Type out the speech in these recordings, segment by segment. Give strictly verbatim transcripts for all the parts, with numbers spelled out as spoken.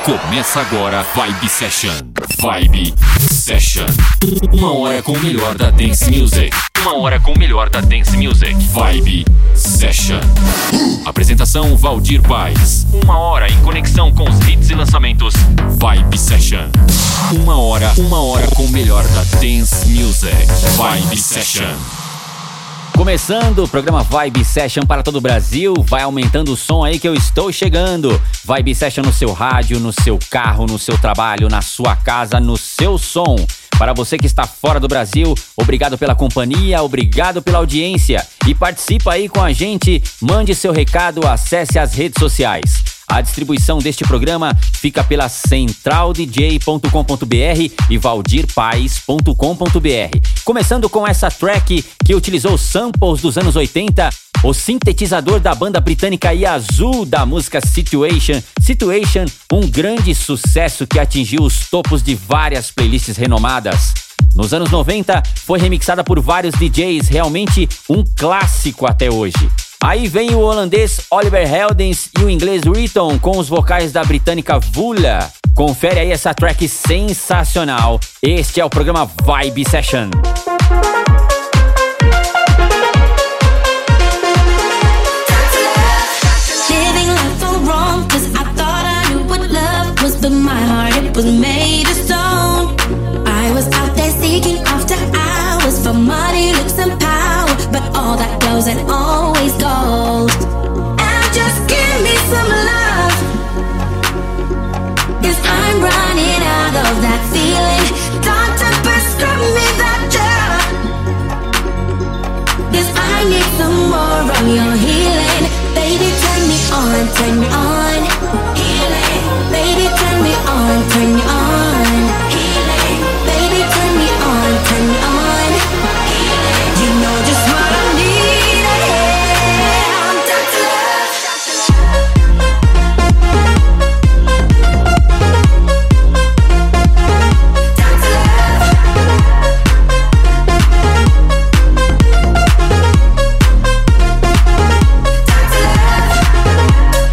Começa agora Vibe Session. Vibe Session. Uma hora com o melhor da Dance Music. Uma hora com o melhor da Dance Music. Vibe Session. Apresentação Valdir Paes. Uma hora em conexão com os hits e lançamentos. Vibe Session. Uma hora, uma hora com o melhor da Dance Music. Vibe Session. Começando o programa Vibe Session para todo o Brasil. Vai aumentando o som aí que eu estou chegando. Vibe Session no seu rádio, no seu carro, no seu trabalho, na sua casa, no seu som. Para você que está fora do Brasil, obrigado pela companhia, obrigado pela audiência. E participa aí com a gente, mande seu recado, acesse as redes sociais. A distribuição deste programa fica pela central d j ponto com ponto b r e valdir paes ponto com ponto b r. Começando com essa track que utilizou samples dos anos oitenta, o sintetizador da banda britânica Yazoo da música Situation. Situation, um grande sucesso que atingiu os topos de várias playlists renomadas. Nos anos noventa, foi remixada por vários D Js, realmente um clássico até hoje. Aí vem o holandês Oliver Heldens e o inglês Riton com os vocais da britânica Vula. Confere aí essa track sensacional. Este é o programa Vibe Session. But my heart, it was made of stone. I was out there seeking after hours for money, looks and power, but all that goes and always goes. And just give me some love, 'cause I'm running out of that feeling. Doctor, prescribe me that drug, 'cause I need some more of your healing. Baby, turn me on, turn me on. Healing. Baby, turn me on, turn me on. Healing. Baby, turn me on, turn me on. Healing. You know just what I need. Yeah, I'm down to love. Down to love. Down to love.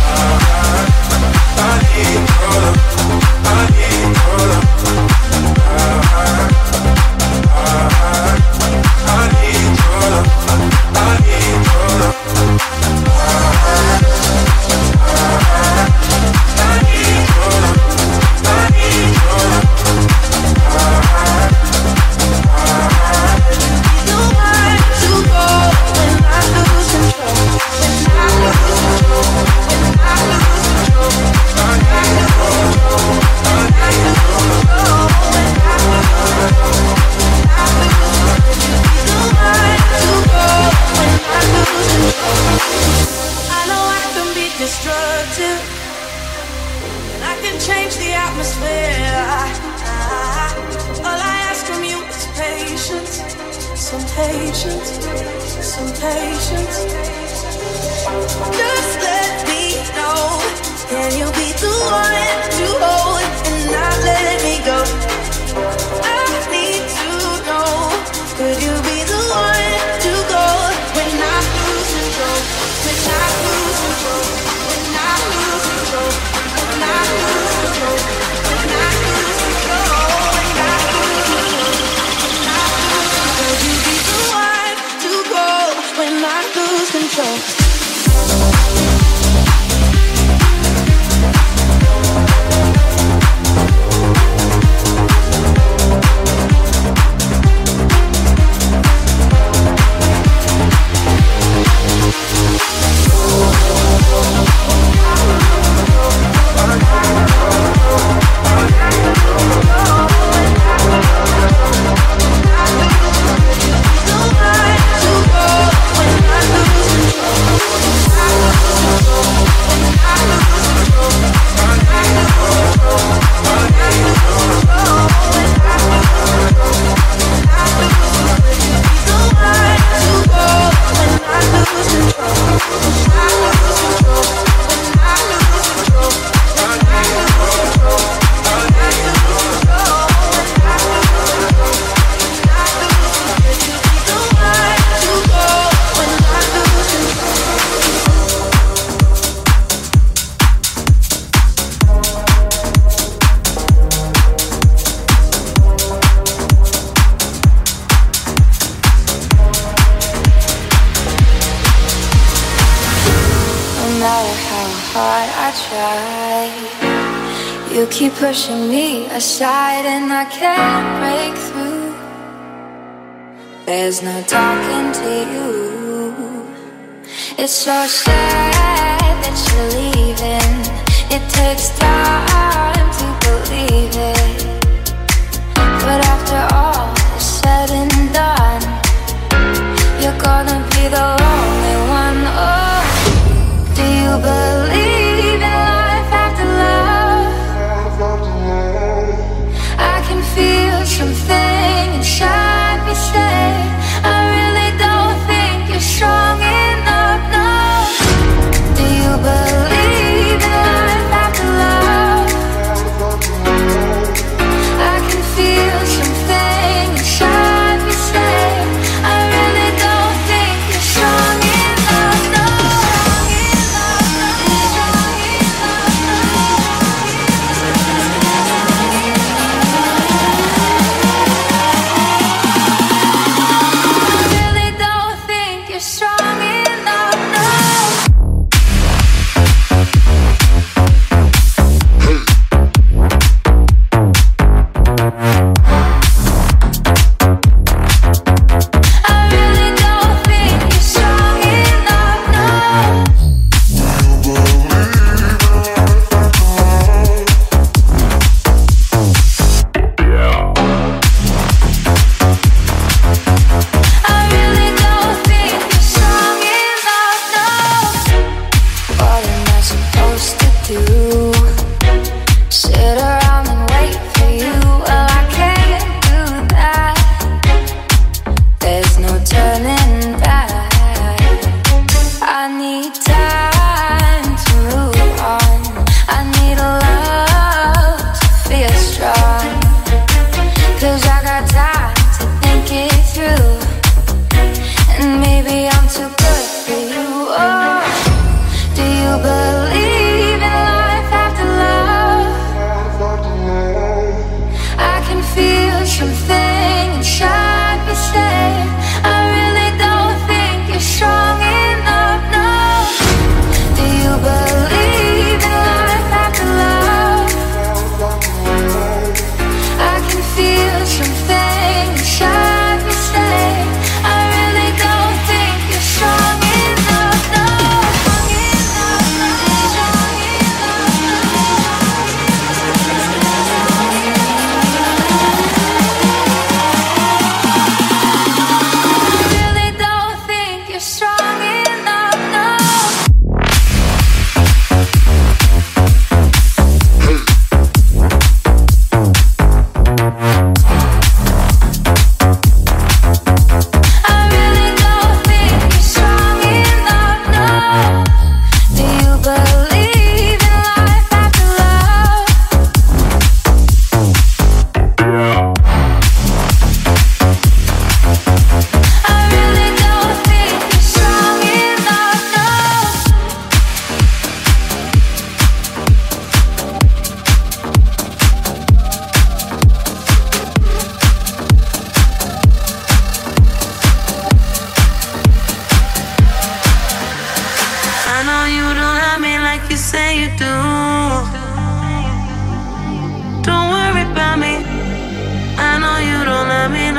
You keep pushing me aside and I can't break through. There's no talking to you. It's so sad that you're leaving. It takes time to believe it. But after all is said and done, you're gonna be the only one. Oh, do you believe in life after love? I can feel something inside me say, I really don't think you're strong enough, no. Do you believe in life after love?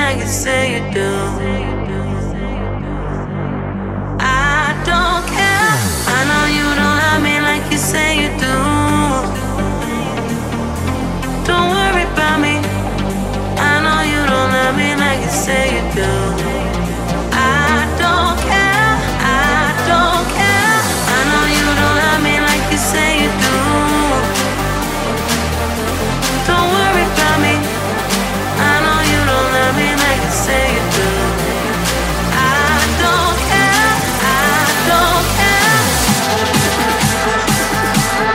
like you say you do. I don't care. I know you don't love me like you say you do. Don't worry about me. I know you don't love me like you say you do. I don't care. I don't care. I know you don't love me like you say you do. Don't worry about me. I know you don't love me like you say you do. I don't care. I don't care.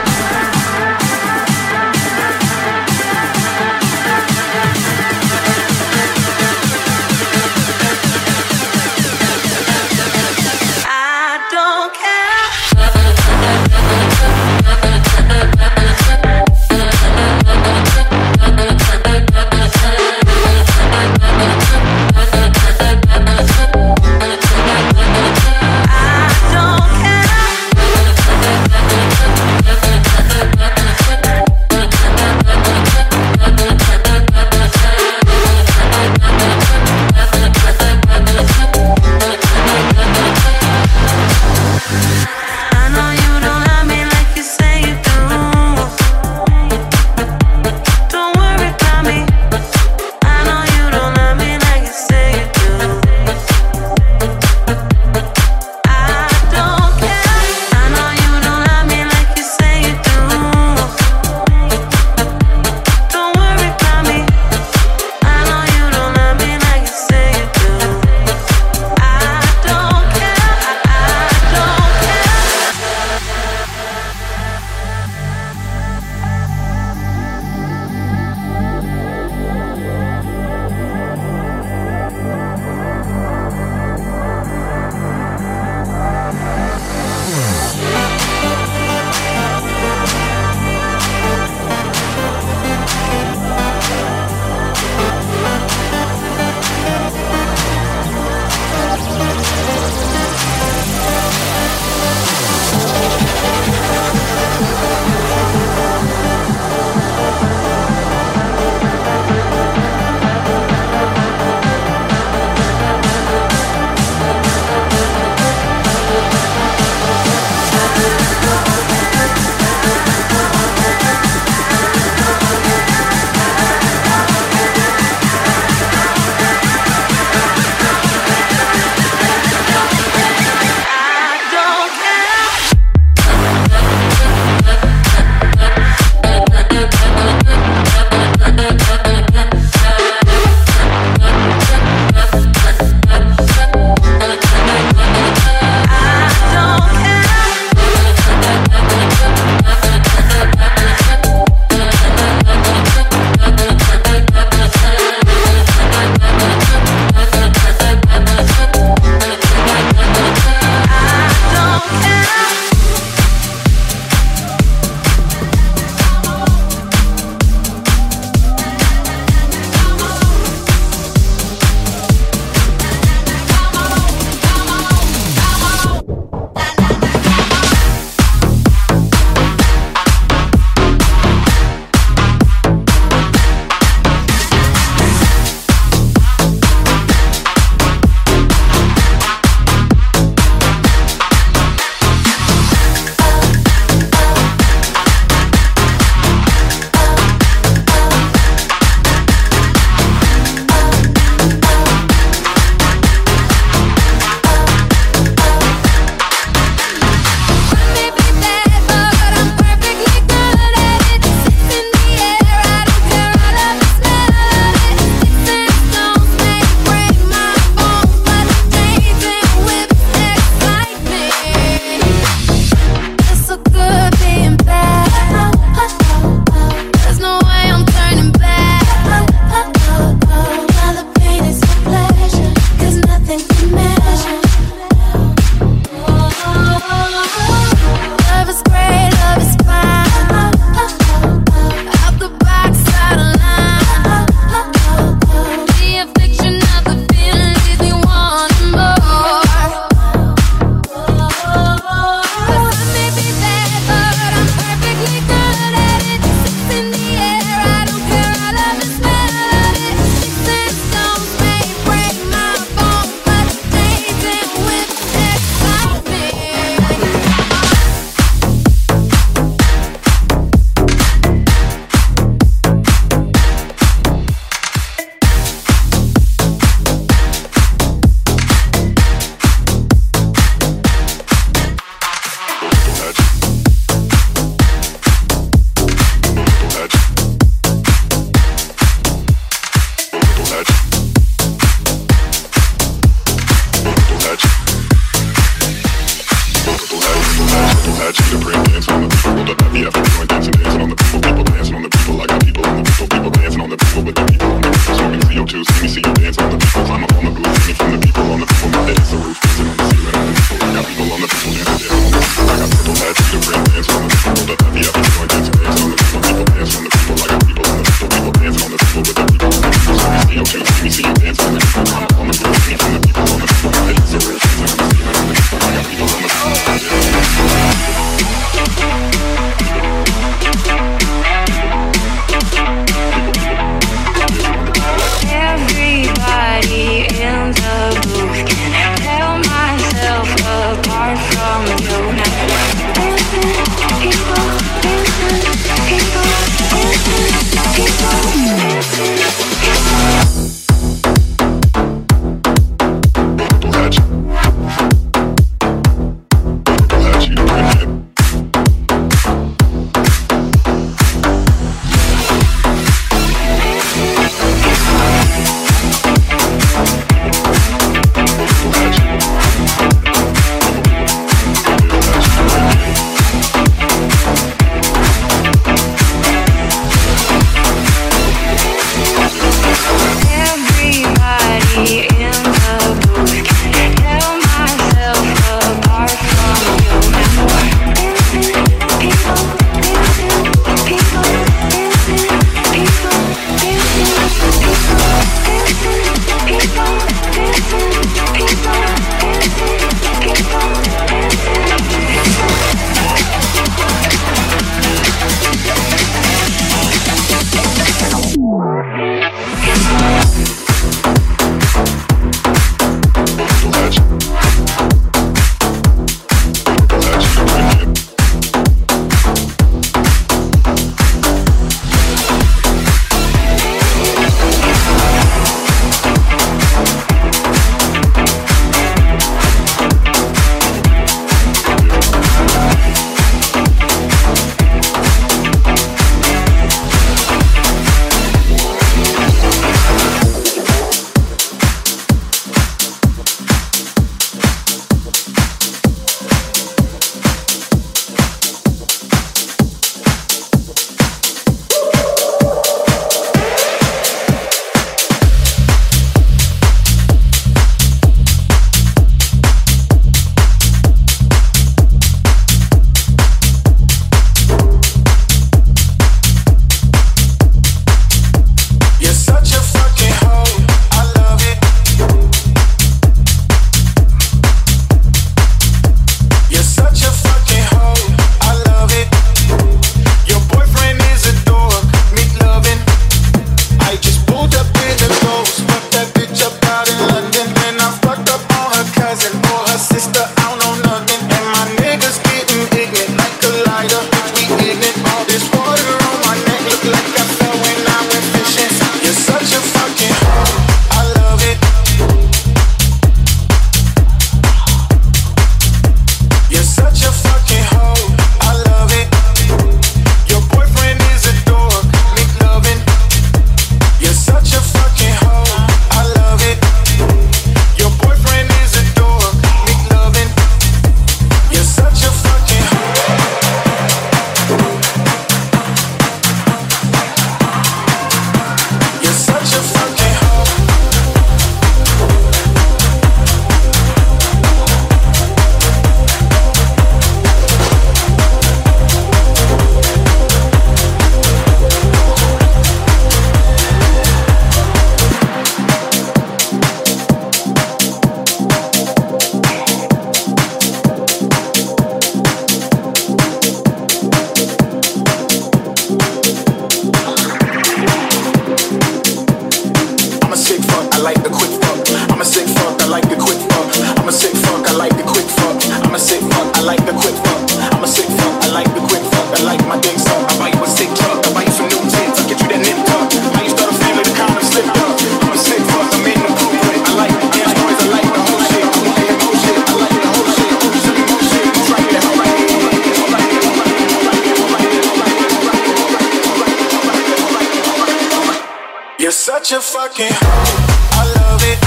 such a fucking hoe. I love it.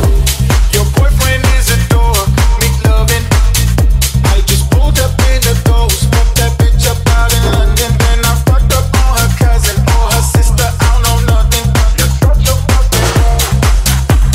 Your boyfriend is a dork. Make loving. I just pulled up in the ghost. Fucked that bitch up out in London. Then I fucked up on her cousin or her sister. I don't know nothing. You're such a fucking hoe.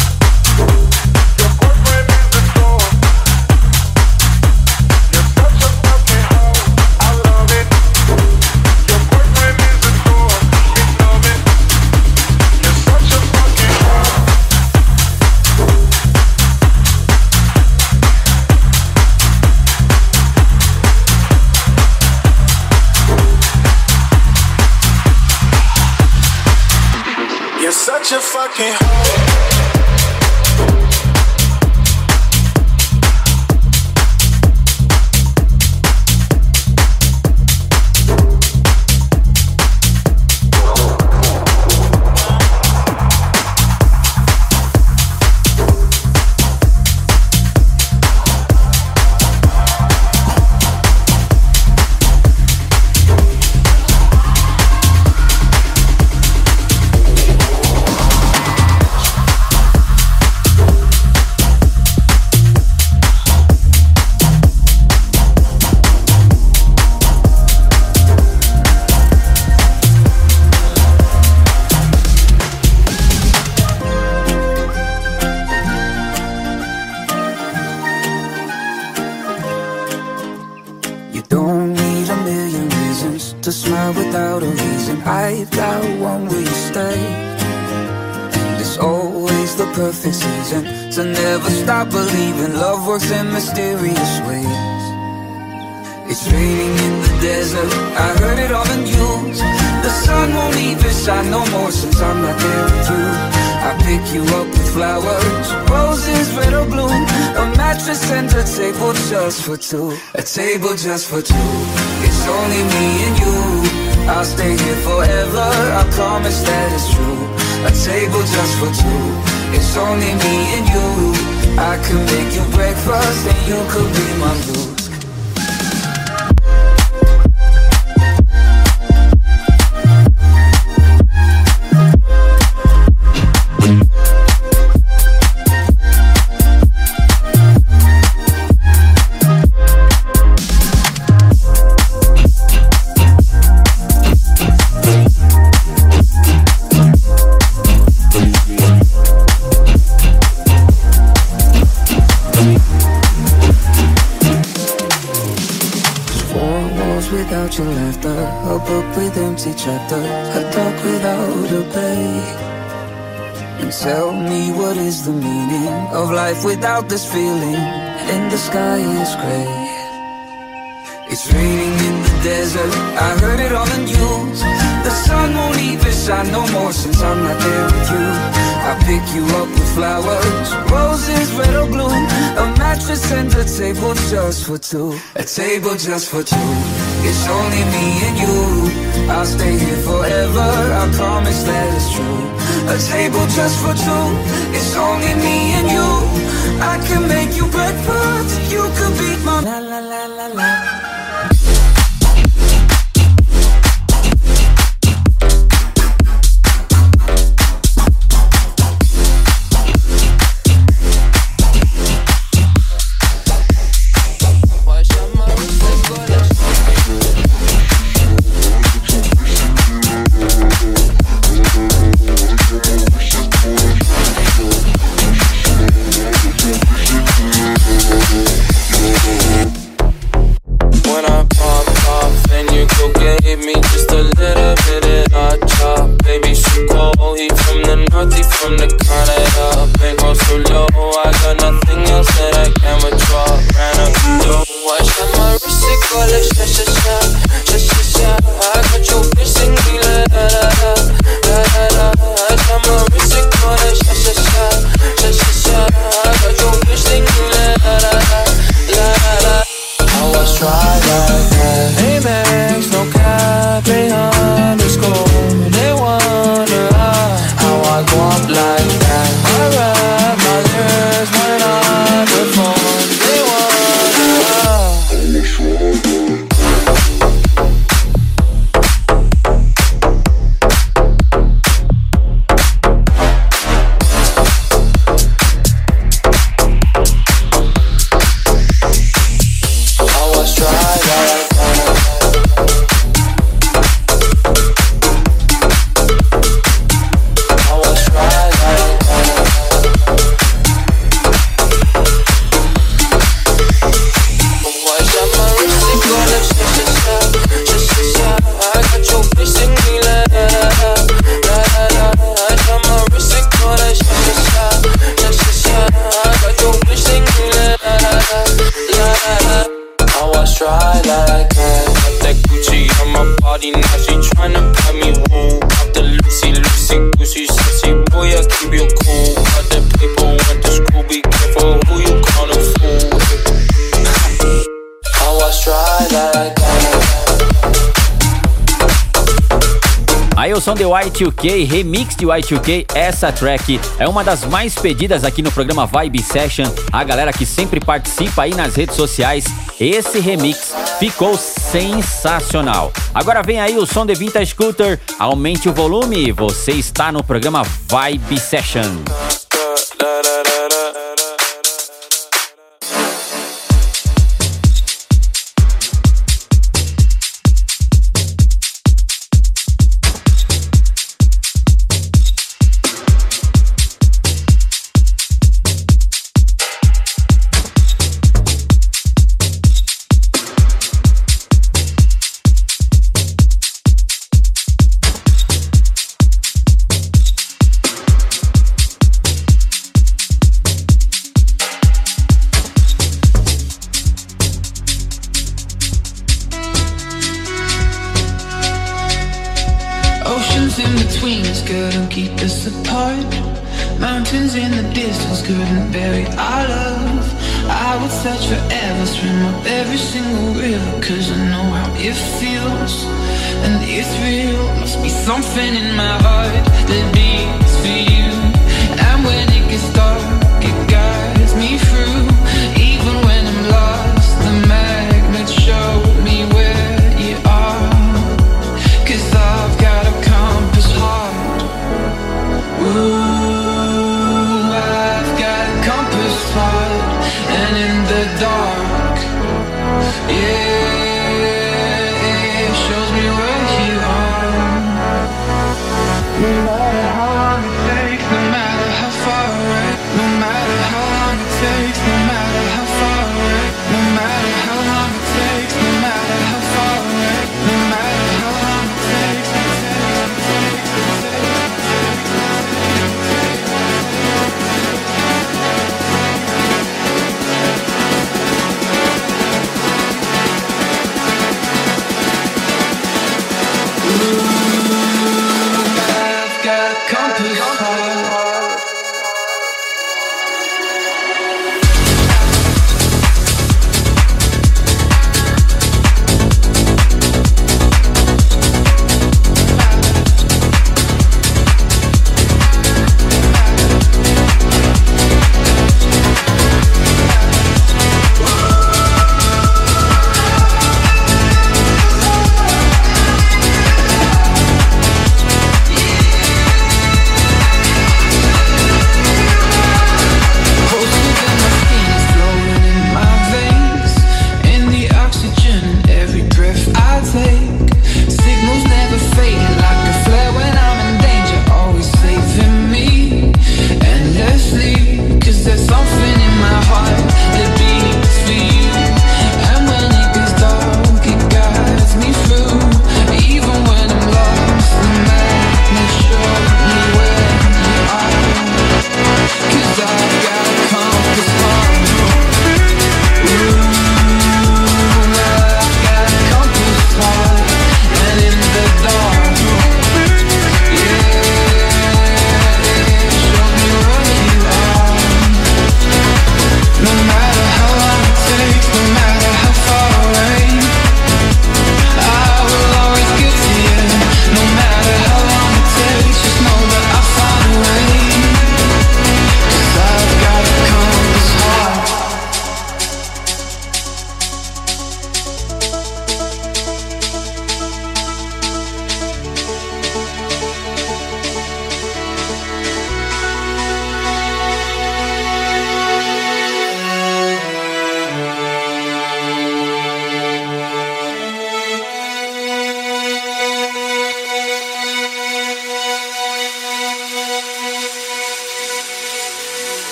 cry without a reason. I've got one, will you stay? And it's always the perfect season to never stop believing. Love works in mysterious ways. It's raining in the desert, I heard it on the news. The sun won't even shine no more since I'm not there with you. I pick you up with flowers, roses, red or blue. A mattress and a table just for two. A table just for two. It's only me and you. I'll stay here forever, I promise that it's true. A table just for two. It's only me and you. I could make you breakfast and you could be my muse. Without your laughter, a book with empty chapters, a dog without a play. And tell me, what is the meaning of life without this feeling? And the sky is grey. It's raining in the desert, I heard it on the news. The sun won't even shine no more since I'm not there with you. I pick you up with flowers, roses, red or blue. A mattress and a table just for two. A table just for two. It's only me and you. I'll stay here forever, I promise that it's true. A table just for two. It's only me and you. I can make you breakfast, you could be my la la la la la. Aí o som de Y dois K, remix de Y dois K, essa track é uma das mais pedidas aqui no programa Vibe Session. A galera que sempre participa aí nas redes sociais, esse remix ficou sensacional. Agora vem aí o som de Vintage Scooter, aumente o volume, você está no programa Vibe Session. couldn't keep us apart. Mountains in the distance couldn't bury our love. I would search forever, swim up every single river, cause I know how it feels, and it's real. Must be something in my heart that beats for you. And when it gets dark, it guides me through. Even when I'm lost, the magnets show me where you are, cause I've got a compass heart. Ooh, I've got a compass heart. And in the dark, yeah, it shows me where you are. No matter how long it takes, no matter how far away, no matter how long it takes, no matter how far away, no matter how long it takes, no matter how far away, no matter how long it takes, it takes, it takes, it takes.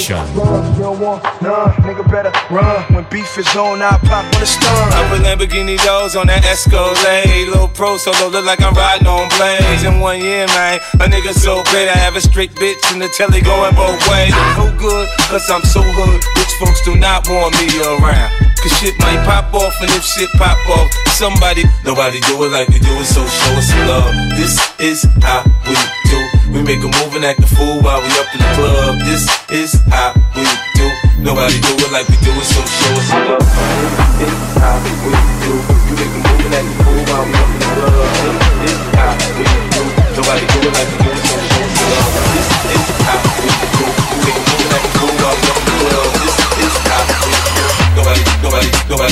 Session. You don't want none, nigga better run. When beef is on, I pop on the stun. I put Lamborghini doors on that Escalade. Little pro solo, look like I'm riding on blades. In one year, man, a nigga so great. I have a straight bitch in the telly going both ways. No good, cause I'm so hood. Rich folks do not want me around. Cause shit might pop off, and if shit pop off, somebody, nobody do it like we do it, so show us some love. This is how we do. We make a move and act a fool while we up in the club. This is how we do. Nobody do it like we do it, so show us some love. This is how we do. We make a move and act a fool while we up in the club. This is how we do. Nobody do it like we do it, so show us some love. This is how we do. We make a move and act a fool while we up in the club. This is how we do. Nobody, nobody, nobody.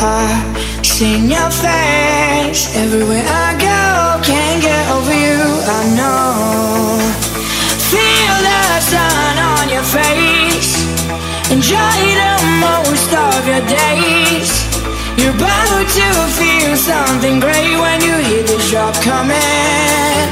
I've seen your face everywhere I go. Can't get over you, I know. Feel the sun on your face. Enjoy the most of your days. You're about to feel something great when you hear the drop coming.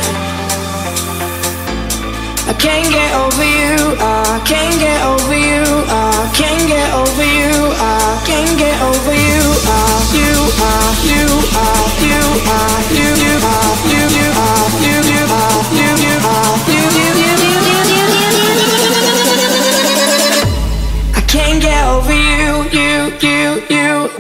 I can't get over you, I can't get over you, I can't get over you, I can't get over you, uh, you are, you are, you are, you, you are, you, you are, you, you are, you, you are, you, you, you, you, you, you, you. I can't get over you, you, you, you.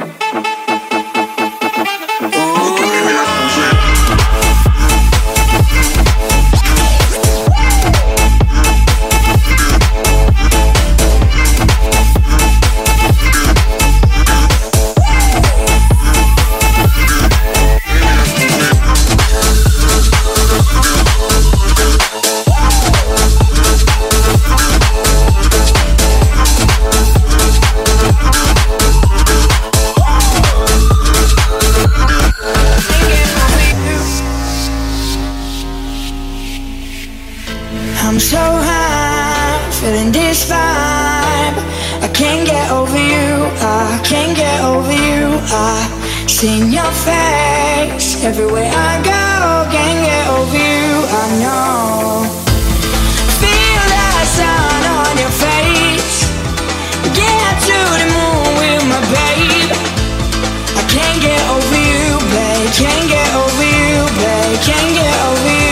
I'm so high, feeling this vibe. I can't get over you, I can't get over you. I've seen your face everywhere I go. Can't get over you, I know. Feel the sun on your face. Get to the moon with my babe. I can't get over you, babe. Can't get over you, babe. Can't get over you.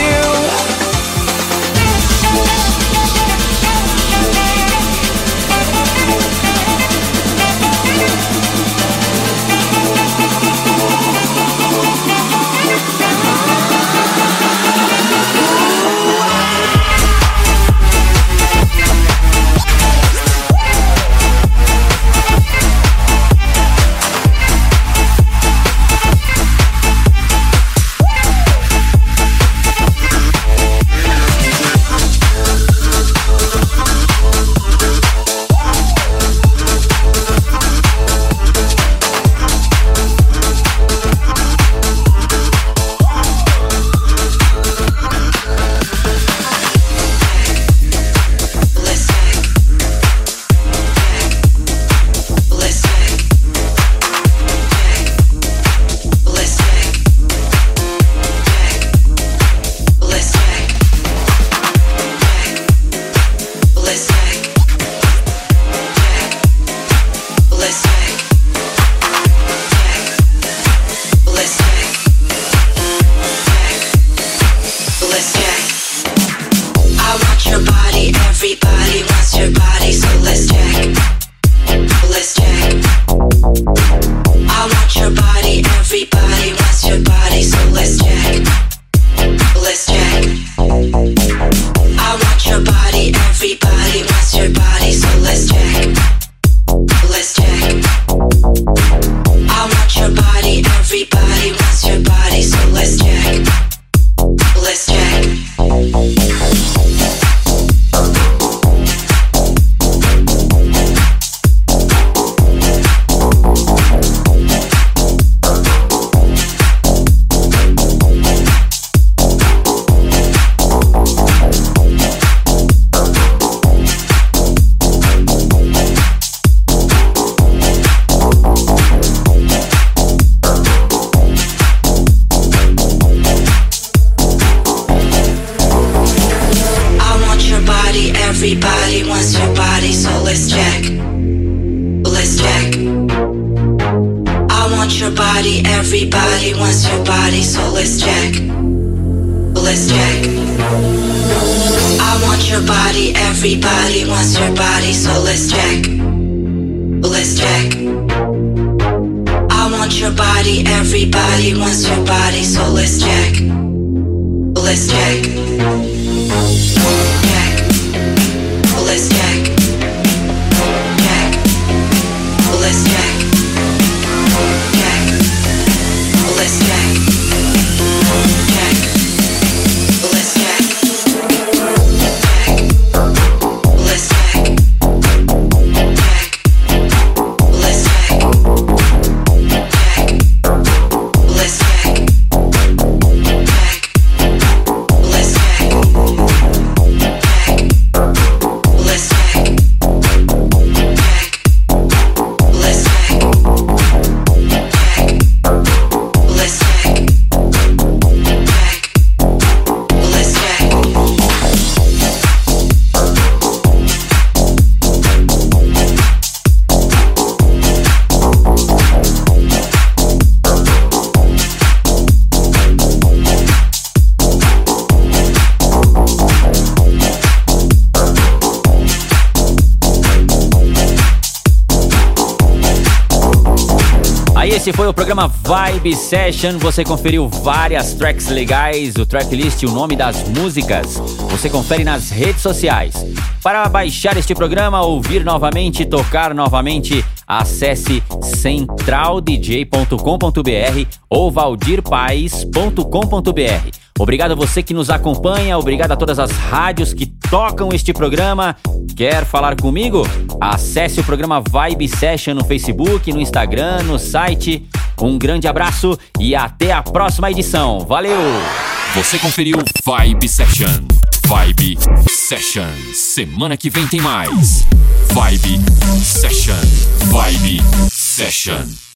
Aí esse foi o programa Vibe Session. Você conferiu várias tracks legais, o tracklist, o nome das músicas. Você confere nas redes sociais. Para baixar este programa, ouvir novamente, tocar novamente, acesse central d j ponto com ponto b r ou valdir paes ponto com ponto b r. Obrigado a você que nos acompanha, obrigado a todas as rádios que tocam este programa. Quer falar comigo? Acesse o programa Vibe Session no Facebook, no Instagram, no site. Um grande abraço e até a próxima edição. Valeu! Você conferiu Vibe Session. Vibe Session. Semana que vem tem mais. Vibe Session. Vibe Session.